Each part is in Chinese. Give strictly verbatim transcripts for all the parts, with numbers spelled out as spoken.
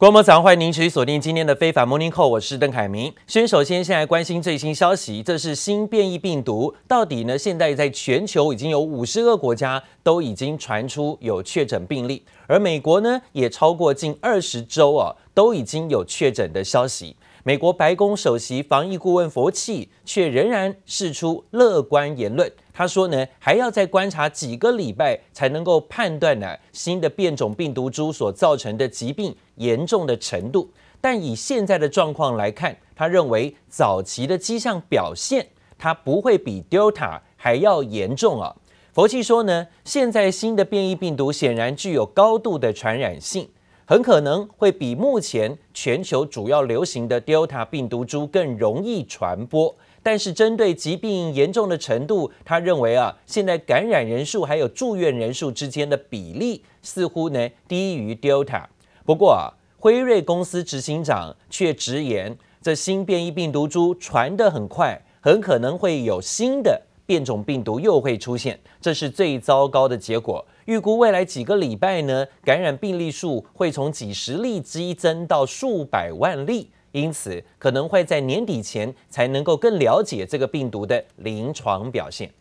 觀眾早上歡迎您持續鎖定今天的非凡 Morning Call， 我是鄧凱明。先首先現在關心最新消息，這是新變異病毒，到底呢？現在在全球已經有五十個國家都已經傳出有確診病例，而美國呢也超過近二十州啊，都已經有確診的消息。美國白宮首席防疫顧問佛奇卻仍然釋出樂觀言論，他說呢，還要再觀察幾個禮拜才能夠判斷呢新的變種病毒株所造成的疾病嚴重的程度。但以現在的狀況來看，他認為早期的跡象表現，它不會比 Delta 還要嚴重啊。佛奇說呢，現在新的變異病毒顯然具有高度的傳染性，很可能會比目前全球主要流行的 Delta 病毒株更容易傳播。但是針對疾病嚴重的程度，他認為啊，現在感染人數還有住院人數之間的比例似乎呢低於 Delta。不過啊，輝瑞公司執行長卻直言，這新變異病毒株傳得很快，很可能會有新的變種病毒又會出現，這是最糟糕的結果。預估未來幾個禮拜呢，感染病例數會從幾十例激增到數百萬例，因此可能會在年底前才能夠更了解這個病毒的臨床表現。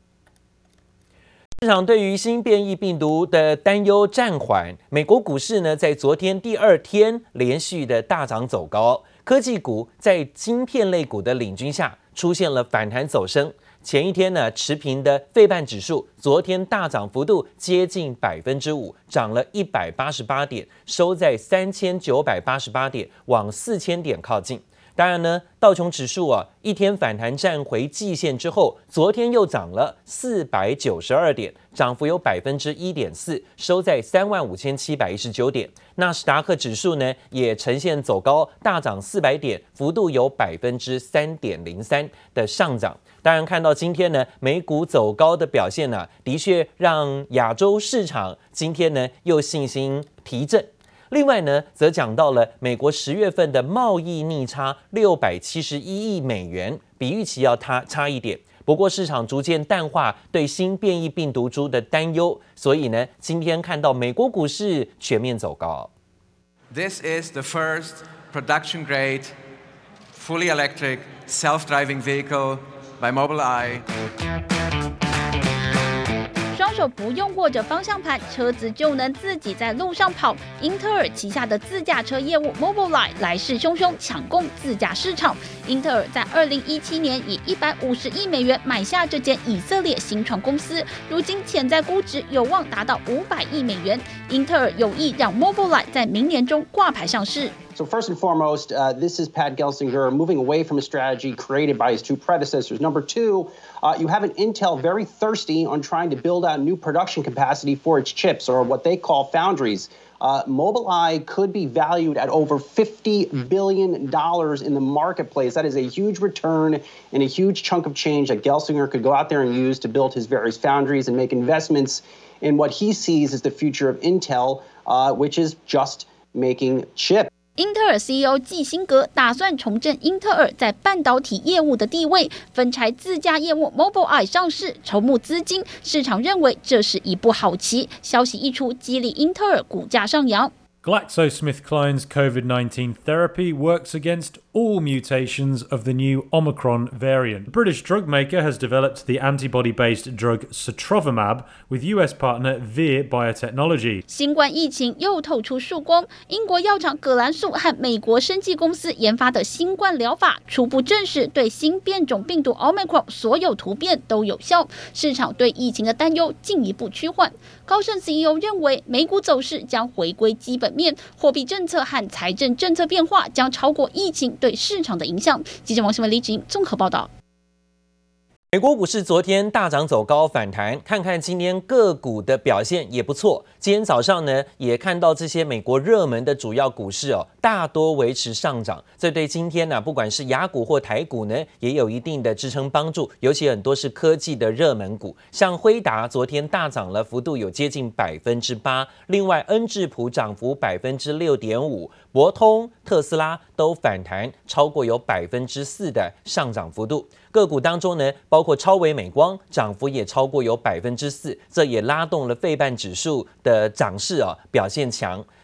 市場對於新變異病毒的擔憂暫緩，美國股市呢在昨天第二天連續的大漲走高，科技股在晶片類股的領軍下出現了反彈走升。前一天呢，持平的費半指數，昨天大漲幅度接近百分之五，漲了一百八十八點，收在三千九百八十八點，往四千點靠近。當然呢，道瓊指數啊，一天反彈站回季線之後，昨天又漲了四百九十二點，漲幅有百分之一點四，收在三萬五千七百一十九點。納斯達克指數呢，也呈現走高，大漲四百點，幅度有百分之三點零三的上漲。當然，看到今天呢，美股走高的表現呢、啊，的確讓亞洲市場今天呢又信心提振。另外呢，則講到了美國十月份的貿易逆差六百七十一億美元，比預期要差差一點。不過市場逐漸淡化對新變異病毒株的擔憂，所以呢，今天看到美國股市全面走高。 This is the first production-grade, fully electric, self-driving vehicle by Mobileye. 双手不用握着方向盤，車子就能自己在路上跑。英特爾旗下的自駕車業務 Mobileye 來勢洶洶，搶攻自駕市場。英特爾在二零一七年以一百五十億美元買下這間以色列新創公司，如今潛在估值有望達到五百億美元。英特爾有意讓 Mobileye 在明年中掛牌上市。 So first and foremost, uh, this is Pat Gelsinger moving away from a strategy created by his two predecessors. Number two, uh, you have an Intel very thirsty on trying to build out new production capacity for its chips, or what they call foundries. Uh, Mobileye could be valued at over fifty billion dollars in the marketplace. That is a huge return and a huge chunk of change that Gelsinger could go out there and use to build his various foundries and make investments in what he sees as the future of Intel, uh, which is just making chips. 英特爾 C E O 季辛格打算重振英特爾在半導體業務的地位，分拆自駕業務 Mobileye 上市，籌募資金。市場認為這是一步好棋。消息一出，激勵英特爾股價上揚。 GlaxoSmithKline's COVID nineteen therapy works against all mutations of the new Omicron variant. The British drug maker has developed the antibody-based drug Sotrovimab with U S partner Vir Biotechnology. 新冠疫情又透出曙光，英國藥廠葛蘭素和美國生技公司研發的新冠療法初步證實對新變種病毒 Omicron 所有突變都有效，市場對疫情的擔憂進一步趨緩。高盛 C E O 認為，美股走勢將回歸基本面，貨幣政策和財政政策變化將超過疫情對市場的影響。記者王新文、李芷瑩綜合報道。 美國股市昨天大漲走高反彈，看看今天個股的表現也不錯。今天早上呢，也看到這些美國熱門的主要股市哦，大多維持上漲。這對今天呢、啊，不管是亞股或台股呢，也有一定的支撐幫助。尤其很多是科技的熱門股，像輝達昨天大漲了，幅度有接近百分之八。另外，恩智浦漲幅百分之六點五，博通、特斯拉都反彈超過有百分之四的上漲幅度。個股當中呢，包括超微美光漲幅也超過有百分之四，這也拉動了費半指數的漲勢啊，表現強。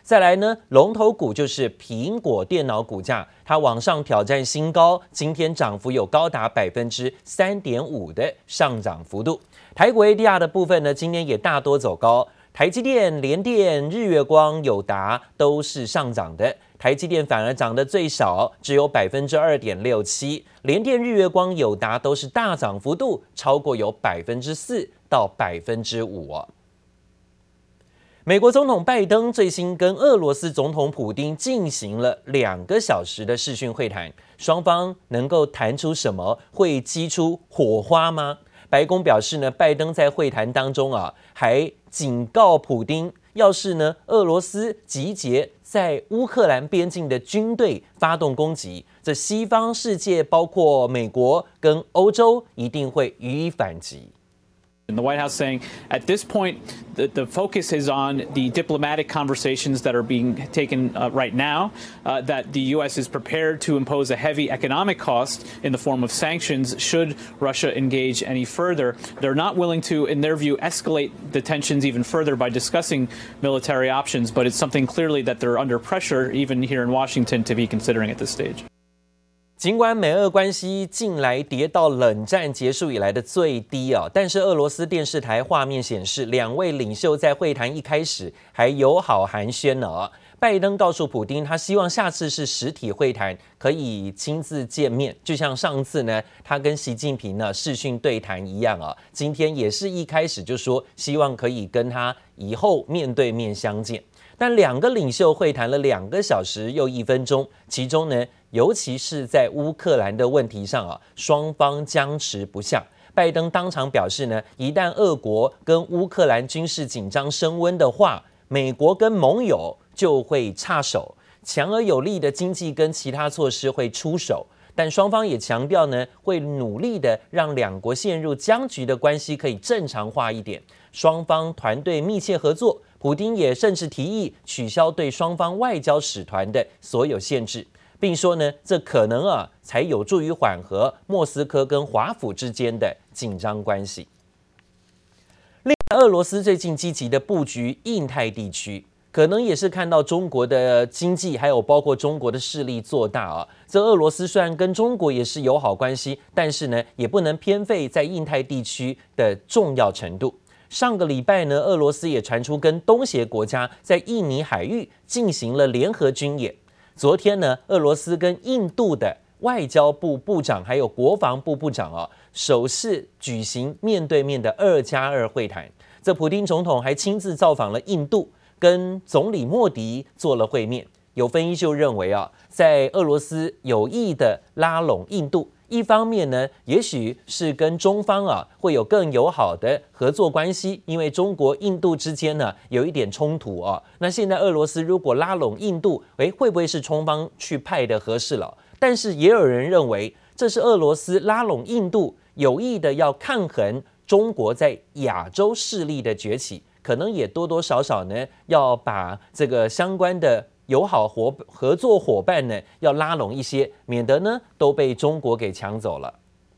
再來呢，龍頭股就是蘋果電腦股價，它往上挑戰新高，今天漲幅有高達百分之三點五的上漲幅度。台股 A D R 的部分呢，今天也大多走高，台積電、聯電、日月光、友達都是上漲的，台積電反而漲得最少，只有百分之二點六七，聯電、日月光、友達都是大漲幅度超過有百分之四到百分之五哦。美國總統拜登最新跟俄羅斯總統普丁進行了兩個小時的視訊會談，雙方能夠談出什麼？會激出火花嗎？白宮表示呢，拜登在會談當中啊，還警告普丁，要是呢俄羅斯集結在烏克蘭邊境的軍隊發動攻擊，這西方世界包括美國跟歐洲一定會予以反擊。 And the White House saying at this point, the, the focus is on the diplomatic conversations that are being taken uh, right now, uh, that the U S is prepared to impose a heavy economic cost in the form of sanctions should Russia engage any further. They're not willing to, in their view, escalate the tensions even further by discussing military options, but it's something clearly that they're under pressure, even here in Washington, to be considering at this stage. 儘管美俄關係近來跌到冷戰結束以來的最低啊，但是俄羅斯電視台畫面顯示，兩位領袖在會談一開始還友好寒暄呢。拜登告訴普丁，他希望下次是實體會談，可以親自見面，就像上次呢，他跟習近平呢視訊對談一樣啊。今天也是一開始就說，希望可以跟他以後面對面相見。但兩個領袖會談了兩個小時又一分鐘，其中呢，尤其是在烏克蘭的問題上啊，雙方僵持不下。拜登當場表示呢，一旦俄國跟烏克蘭軍事緊張升溫的話，美國跟盟友就會插手，強而有力的經濟跟其他措施會出手。但雙方也強調呢，會努力的讓兩國陷入僵局的關係可以正常化一點，雙方團隊密切合作。普丁也甚至提議取消對雙方外交使團的所有限制，並說呢，這可能啊才有助於緩和莫斯科跟華府之間的緊張關係。另外，俄羅斯最近積極的布局印太地區，可能也是看到中國的經濟，還有包括中國的勢力做大啊。這俄羅斯雖然跟中國也是友好關係，但是呢，也不能偏廢在印太地區的重要程度。上個禮拜呢，俄羅斯也傳出跟東協國家在印尼海域進行了聯合軍演。昨天呢，俄羅斯跟印度的外交部部長還有國防部部長啊，首次舉行面對面的二加二會談。這普丁總統還親自造訪了印度，跟總理莫迪做了會面。有分析就認為啊，在俄羅斯有意的拉攏印度。一方面呢，也許是跟中方啊會有更友好的合作關係，因為中國、印度之間呢有一點衝突啊。那現在俄羅斯如果拉攏印度，誒，會不會是中方去派的合適了？但是也有人認為，這是俄羅斯拉攏印度，有意的要抗衡中國在亞洲勢力的崛起，可能也多多少少呢要把這個相關的友好合合作夥伴呢，要拉攏一些，免得呢都被中國給搶走了。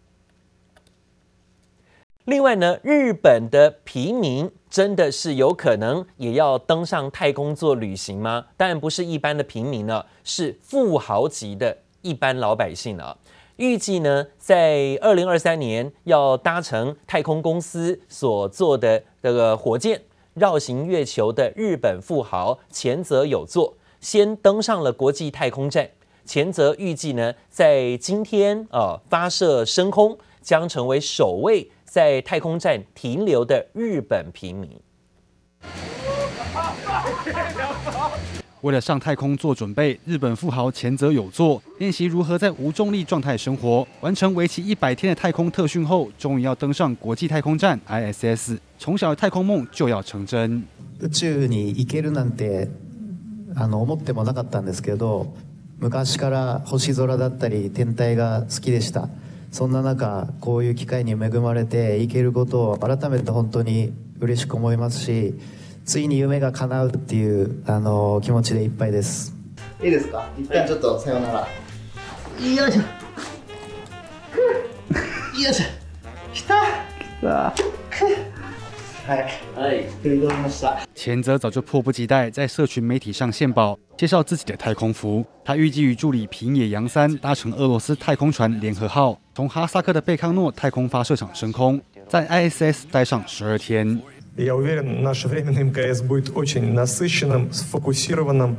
另外呢，日本的平民真的是有可能也要登上太空做旅行嗎？當然不是一般的平民呢，是富豪級的一般老百姓啊。預計呢，在二零二三年要搭乘太空公司所做的這個火箭繞行月球的日本富豪前澤友作，先登上了國際太空站。前澤預計呢，在今天呃發射升空，將成為首位在太空站停留的日本平民。 為了上太空做準備，日本富豪前澤友作練習如何在無重力狀態生活，完成為期一百天的太空特訓後，終於要登上國際太空站 I S S。從小的太空夢就要成真。 宇宙に行けるなんてあの思ってもなかったんですけど、昔から星空だったり天体が好きでした。そんな中、こういう機会に恵まれて行けることを改めて本当に嬉しく思いますし、ついに夢が叶うっていうあの気持ちでいっぱいです。いいですか？一旦ちょっとさようなら。よいしょ。よいしょ。来た。来た。はい。はい。取り込みました。 前則早就迫不及待在社群媒體上獻寶，介紹自己的太空服。他預計與助理平野洋三搭乘俄羅斯太空船聯合號，從哈薩克的貝康諾太空發射場升空，在 I S S 待上十二天。 Я уверен, наше временное эм ка эс будет очень насыщенным, сфокусированным,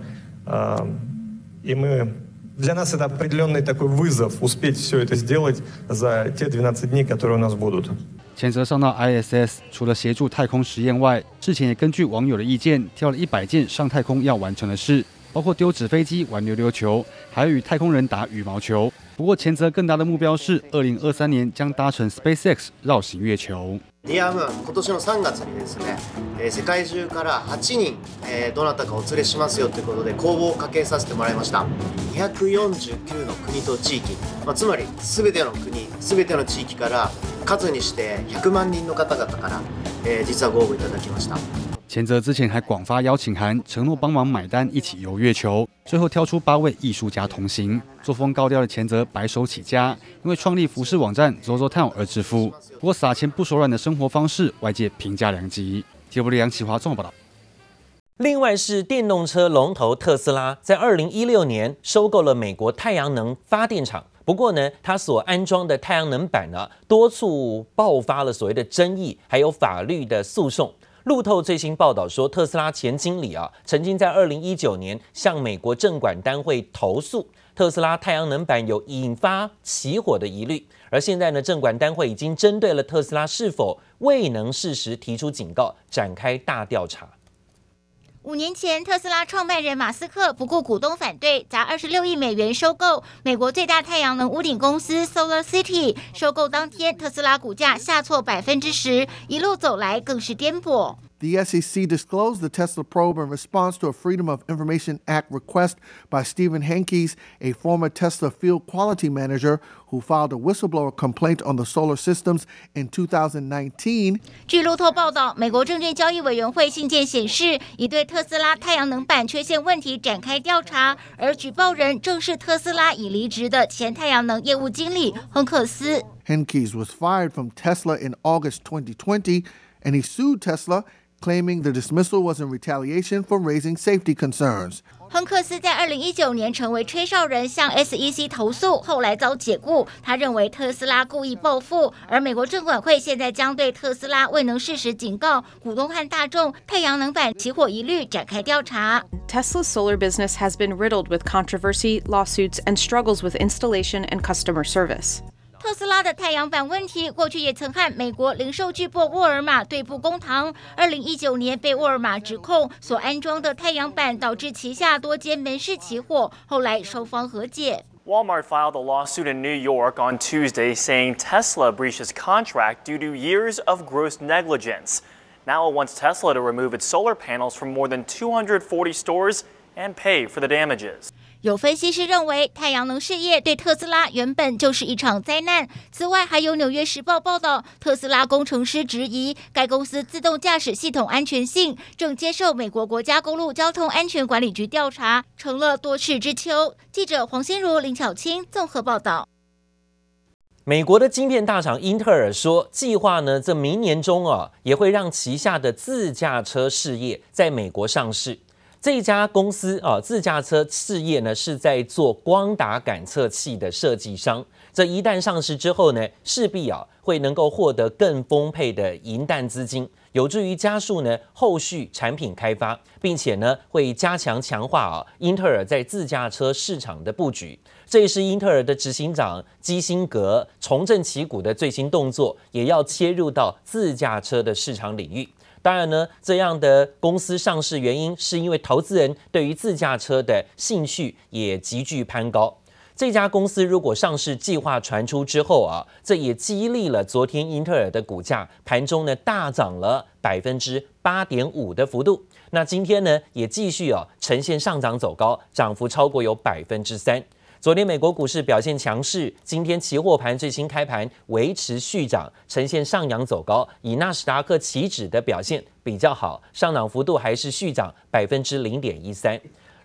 и мы для нас это определенный такой вызов успеть все это сделать за те двенадцать дней, которые у нас будут. 前澤上到 I S S， 除了協助太空實驗外，之前也根據網友的意見，挑了一百件上太空要完成的事，包括丟紙飛機、玩溜溜球，還有與太空人打羽毛球。不過前澤更大的目標是，二零二三年將搭乘 SpaceX 繞行月球。 ディアムーン今年のさんがつにですね、世界中からはちにん、どなたかお連れしますよということで公募をかけさせてもらいました。にひゃくよんじゅうきゅうの国と地域、まあ、つまり全ての国、全ての地域から数にしてひゃくまん人の方々から、えー、実はご応募いただきました。 前澤之前還廣發邀請函，承諾幫忙買單一起遊月球，最後挑出八位藝術家同行。作風高調的前澤白手起家，因為創立服飾網站 ZOZOTOWN 而致富。不過撒錢不手軟的生活方式，外界評價兩極。T V B 楊啟華綜合報道。 另外是電動車龍頭特斯拉，在二零一六年收購了美國太陽能發電廠。不過呢，它所安裝的太陽能板呢，多處爆發了所謂的爭議，還有法律的訴訟。路透最新報道說，特斯拉前經理啊，曾經在二零一九年向美國證管單位投訴特斯拉太陽能板有引發起火的疑慮，而現在呢，證管單位已經針對了特斯拉是否未能適時提出警告，展開大調查。 五年前，特斯拉創辦人馬斯克不顧股東反對，砸二十六億美元收購美國最大太陽能屋頂公司 SolarCity。收購當天，特斯拉股價下挫百分之十，一路走來更是顛簸。 The S E C disclosed the Tesla probe in response to a Freedom of Information Act request by Stephen Henkes, a former Tesla field quality manager who filed a whistleblower complaint on the solar systems in two thousand nineteen. 據路透報道，美國證券交易委員會信件顯示，已對特斯拉太陽能板缺陷問題展開調查，而舉報人正是特斯拉已離職的前太陽能業務經理亨克斯。 Henkes was fired from Tesla in August twenty twenty, and he sued Tesla, claiming the dismissal was in retaliation for raising safety concerns. 亨克斯在二零一九年成為吹哨人，向 S E C 投訴，後來遭解雇。他認為特斯拉故意報復，而美國證管會現在將對特斯拉未能適時警告股東和大眾太陽能板起火疑慮展開調查。 Tesla's solar business has been riddled with controversy, lawsuits, and struggles with installation and customer service. 特斯拉的太陽板問題，過去也曾和美國零售巨擘沃爾瑪對簿公堂。二零一九年被沃爾瑪指控所安裝的太陽板導致旗下多間門市起火，後來雙方和解。 Walmart filed a lawsuit in New York on Tuesday saying Tesla breached its contract due to years of gross negligence. Now it wants Tesla to remove its solar panels from more than two hundred forty stores and pay for the damages. 有分析師認為，太陽能事業對特斯拉原本就是一場災難。此外，還有《紐約時報》報道，特斯拉工程師質疑該公司自動駕駛系統安全性，正接受美國國家公路交通安全管理局調查，成了多事之秋。記者黃心如、林巧清綜合報道。 美國的晶片大廠英特爾說，計劃呢，這明年中啊，也會讓旗下的自駕車事業在美國上市。這一家公司啊，自駕車事業呢是在做光達感測器的設計商。這一旦上市之後呢，勢必啊會能夠獲得更豐沛的銀彈資金，有助於加速呢後續產品開發，並且呢會加強強化啊英特爾在自駕車市場的佈局。這也是英特爾的執行長基辛格重振旗鼓的最新動作，也要切入到自駕車的市場領域。當然呢，這樣的公司上市原因是因為投資人對於自駕車的興趣也急劇攀高。這家公司如果上市計劃傳出之後啊，這也激勵了昨天英特爾的股價盤中呢大漲了百分之八點五的幅度。那今天呢也繼續啊呈現上漲走高，漲幅超過有百分之三。昨天美國股市表現強勢，今天期貨盤最新開盤維持續漲，呈現上揚走高。以納斯達克期指的表現比較好，上漲幅度還是續漲百分之零點一三。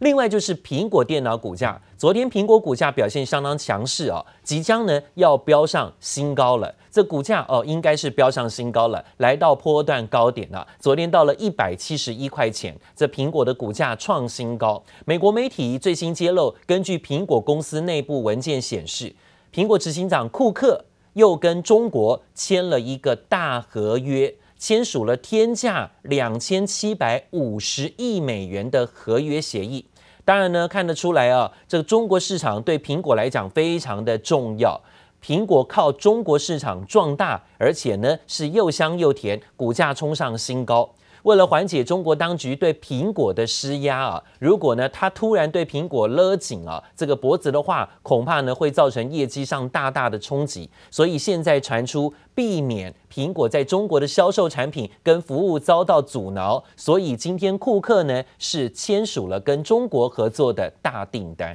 另外就是蘋果電腦股價，昨天蘋果股價表現相當強勢哦，即將呢要飆上新高了。這股價哦應該是飆上新高了，來到波段高點了。昨天到了一百七十一塊錢，這蘋果的股價創新高。美國媒體最新揭露，根據蘋果公司內部文件顯示，蘋果執行長庫克又跟中國簽了一個大合約。簽署了天價兩千七百五十億美元的合約協議。當然呢，看得出來啊，這個中國市場對蘋果來講非常的重要。蘋果靠中國市場壯大，而且呢是又香又甜，股價衝上新高。為了緩解中國當局對蘋果的施壓啊，如果呢他突然對蘋果勒緊啊這個脖子的話，恐怕呢會造成業績上大大的衝擊。所以現在傳出避免蘋果在中國的銷售產品跟服務遭到阻撓，所以今天庫克呢是簽署了跟中國合作的大訂單。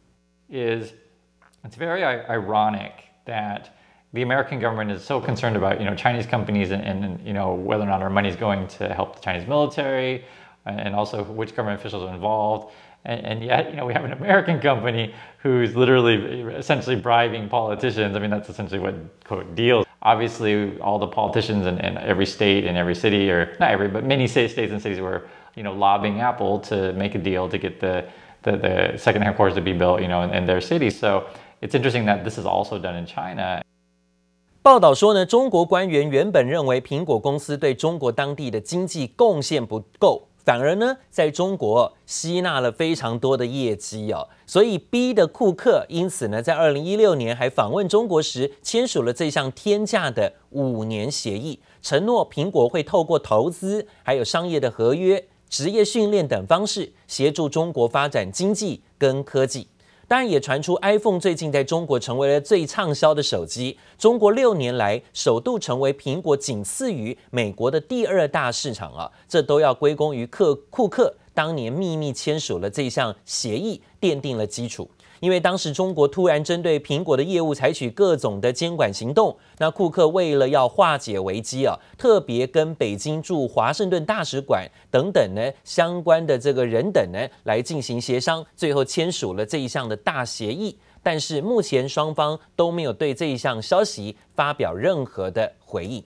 Is it's very ironic that the American government is so concerned about, you know, Chinese companies and, and you know, whether or not our money is going to help the Chinese military, and also which government officials are involved. And, and yet, you know, we have an American company who's literally essentially bribing politicians. I mean, that's essentially what, quote, deals. Obviously, all the politicians in, in every state and every city, or not every, but many states and cities were, you know, lobbying Apple to make a deal to get the, the, the second headquarters to be built, you know, in, in their cities. So it's interesting that this is also done in China. 報道說呢，中國官員原本認為蘋果公司對中國當地的經濟貢獻不夠，反而呢，在中國吸納了非常多的業績哦，所以逼得庫克因此呢，在二零一六年還訪問中國時，簽署了這項天價的五年協議，承諾蘋果會透過投資、還有商業的合約、職業訓練等方式，協助中國發展經濟跟科技。當然也傳出 iPhone 最近在中國成為了最暢銷的手機，中國六年來首度成為蘋果僅次於美國的第二大市場啊，這都要歸功於克庫克當年秘密簽署了這項協議，奠定了基礎。因為當時中國突然針對蘋果的業務採取各種的監管行動，那庫克為了要化解危機啊，特別跟北京駐華盛頓大使館等等呢相關的這個人等呢來進行協商，最後簽署了這一項的大協議。但是目前雙方都沒有對這一項消息發表任何的回應。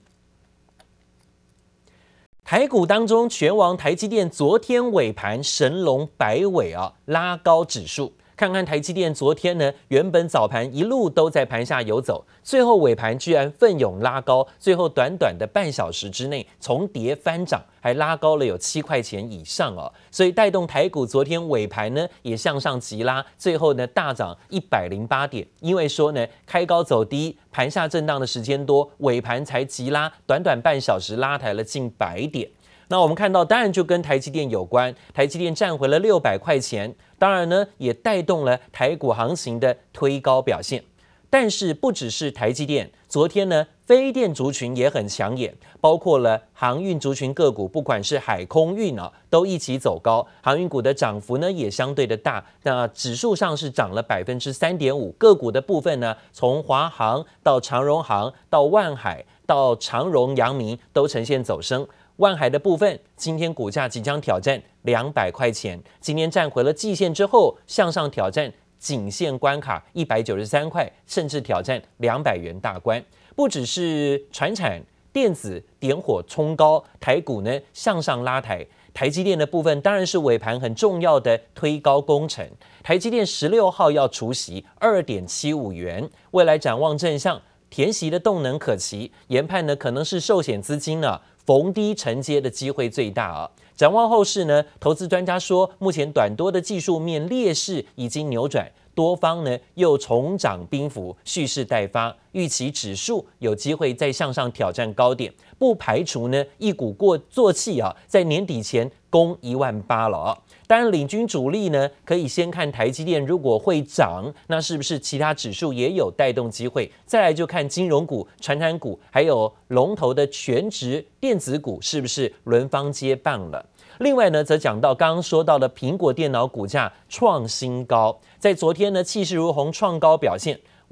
台股當中，權王台積電昨天尾盤神龍擺尾啊，拉高指數。看看台積電昨天呢，原本早盤一路都在盤下游走，最後尾盤居然奮勇拉高，最後短短的半小時之內從跌翻漲，還拉高了有七塊錢以上哦，所以帶動台股昨天尾盤呢也向上急拉，最後呢大漲一百零八點，因為說呢開高走低，盤下震盪的時間多，尾盤才急拉，短短半小時拉抬了近百點。那我們看到，當然就跟台積電有關，台積電站回了六百塊錢，當然呢也帶動了台股行情的推高表現。但是不只是台積電，昨天呢非電族群也很搶眼，包括了航運族群個股，不管是海空運啊，都一起走高，航運股的漲幅呢也相對的大，那指數上是漲了百分之三點五，個股的部分呢，從華航到長榮航到萬海到長榮、陽明都呈現走升。萬海的部分，今天股價即將挑戰兩百塊錢，今天站回了季線之後，向上挑戰頸線關卡一百九十三塊，甚至挑戰兩百元大關。不只是傳產、電子點火衝高，台股呢向上拉抬。台積電的部分當然是尾盤很重要的推高工程。台積電十六號要除息二點七五元，未來展望正向，填息的動能可期，研判呢可能是壽險資金呢逢低承接的機會最大啊。展望後市呢，投資專家說，目前短多的技術面劣勢已經扭轉，多方呢又重掌兵符，蓄勢待發，預期指數有機會再向上挑戰高點，不排除呢一鼓過作氣啊，在年底前攻一萬八了啊。當然，領軍主力呢，可以先看台積電，如果會漲，那是不是其他指數也有帶動機會？再來就看金融股、傳產股，還有龍頭的權值電子股，是不是輪番接棒了？另外呢，則講到剛剛說到的蘋果電腦股價創新高，在昨天呢氣勢如虹創高表現，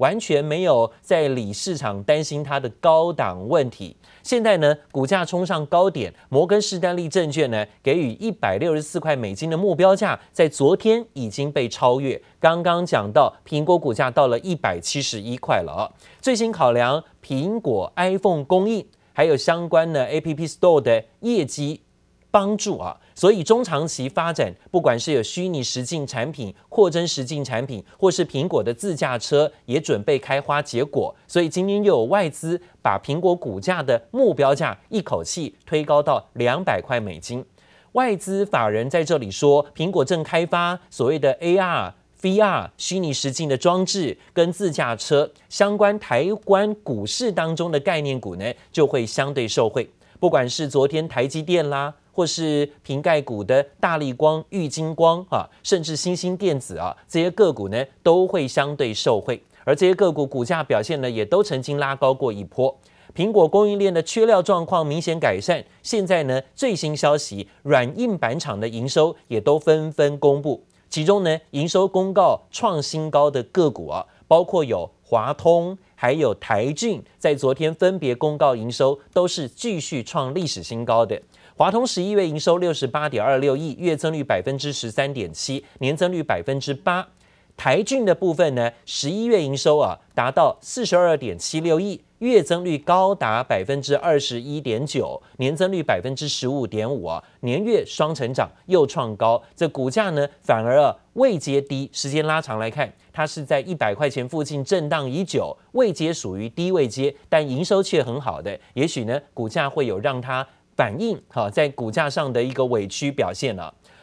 完全沒有在理市場擔心它的高檔問題。現在呢，股價衝上高點，摩根士丹利證券呢給予一百六十四塊美金的目標價，在昨天已經被超越。剛剛講到蘋果股價到了一百七十一塊了啊。最新考量蘋果 iPhone 供應，還有相關的 App Store 的業績幫助啊，所以中長期發展，不管是有虛擬實境產品、擴增實境產品，或是蘋果的自駕車也準備開花結果。所以今天又有外資把蘋果股價的目標價一口氣推高到兩百塊美金。外資法人在這裡說，蘋果正開發所謂的 A R、V R 虛擬實境的裝置跟自駕車相關，台灣股市當中的概念股呢，就會相對受惠。不管是昨天台積電啦，或是蘋概股的大立光、玉晶光啊，甚至新興電子啊，這些個股呢都會相對受惠。而這些個股股價表現呢，也都曾經拉高過一波。蘋果供應鏈的缺料狀況明顯改善，現在呢最新消息，軟硬板廠的營收也都紛紛公布。其中呢，營收公告創新高的個股啊，包括有華通，還有台郡，在昨天分別公告營收，都是繼續創歷史新高的。華通十一月營收六十八點二六億，月增率百分之十三點七，年增率百分之八。台郡的部分呢，十一月營收啊達到四十二點七六億，月增率高達百分之二十一點九，年增率百分之十五點五啊，年月雙成長又創高。這股價呢反而啊位階低，時間拉長來看，它是在一百塊錢附近震盪已久，位階屬於低位階，但營收卻很好的，也許呢股價會有讓它反映好在股價上的一個委屈表現了、啊。